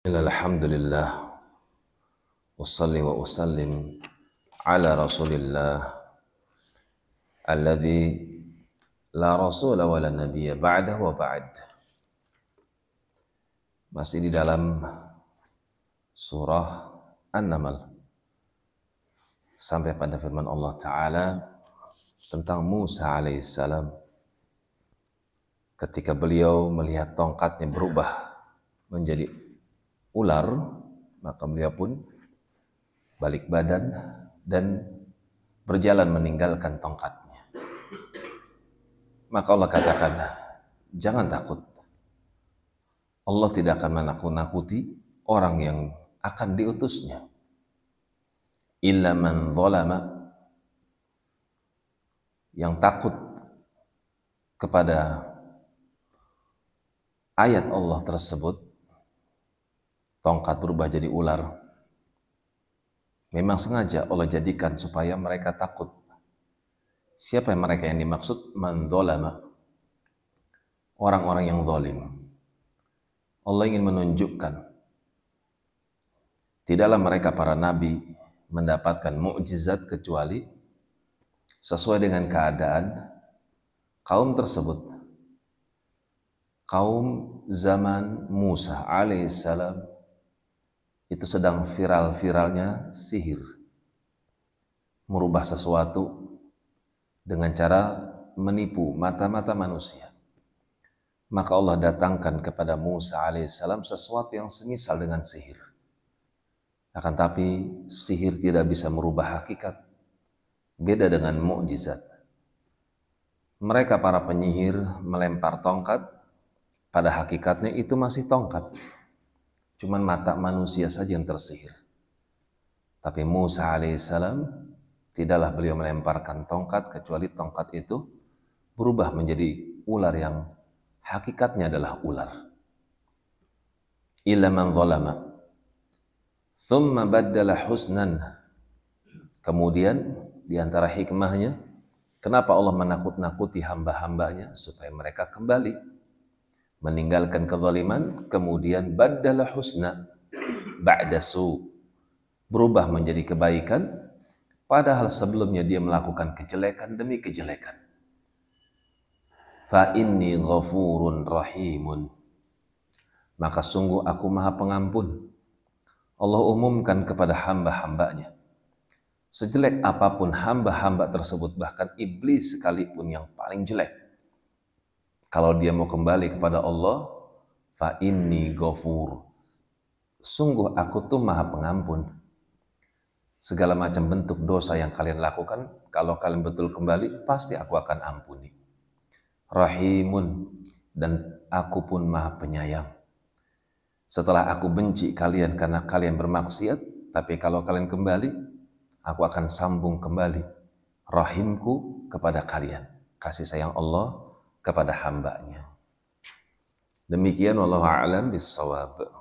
Alhamdulillah, usalli wa usallim ala rasulillah alladhi la rasula wa la nabiyya ba'dah wa ba'd. Masih di dalam surah An-Naml sampai pada firman Allah Ta'ala tentang Musa alaihissalam ketika beliau melihat tongkatnya berubah menjadi ular, maka beliau pun balik badan dan berjalan meninggalkan tongkatnya. Maka Allah katakan, jangan takut. Allah tidak akan menakut-nakuti orang yang akan diutusnya. Illa man zalama, yang takut kepada ayat Allah tersebut, tongkat berubah jadi ular, memang sengaja Allah jadikan supaya mereka takut. Siapa yang mereka yang dimaksud? Man zalama, orang-orang yang zalim. Allah ingin menunjukkan tidaklah mereka para nabi mendapatkan mukjizat kecuali sesuai dengan keadaan kaum tersebut. Kaum zaman Musa alaihissalam itu sedang viral-viralnya sihir, merubah sesuatu dengan cara menipu mata-mata manusia. Maka Allah datangkan kepada Musa alaihissalam sesuatu yang semisal dengan sihir. Akan tapi sihir tidak bisa merubah hakikat. Beda dengan mukjizat. Mereka para penyihir melempar tongkat, pada hakikatnya itu masih tongkat. Cuman mata manusia saja yang tersihir. Tapi Musa alaihissalam tidaklah beliau melemparkan tongkat kecuali tongkat itu berubah menjadi ular yang hakikatnya adalah ular. Illa man zalama thumma baddala husnan. Kemudian di antara hikmahnya, kenapa Allah menakut-nakuti hamba-hambanya supaya mereka kembali meninggalkan kezaliman, kemudian baddala husna ba'da su, berubah menjadi kebaikan, padahal sebelumnya dia melakukan kejelekan demi kejelekan. Fa inni ghafurun rahimun, maka sungguh aku maha pengampun. Allah umumkan kepada hamba-hambanya, sejelek apapun hamba-hamba tersebut, bahkan iblis sekalipun yang paling jelek, kalau dia mau kembali kepada Allah, fa inni ghafur, sungguh aku tuh maha pengampun. Segala macam bentuk dosa yang kalian lakukan, kalau kalian betul kembali, pasti aku akan ampuni. Rahimun, dan aku pun maha penyayang. Setelah aku benci kalian karena kalian bermaksiat, tapi kalau kalian kembali, aku akan sambung kembali rahimku kepada kalian. Kasih sayang Allah kepada hambanya. Demikian wallahu a'lam bissawab.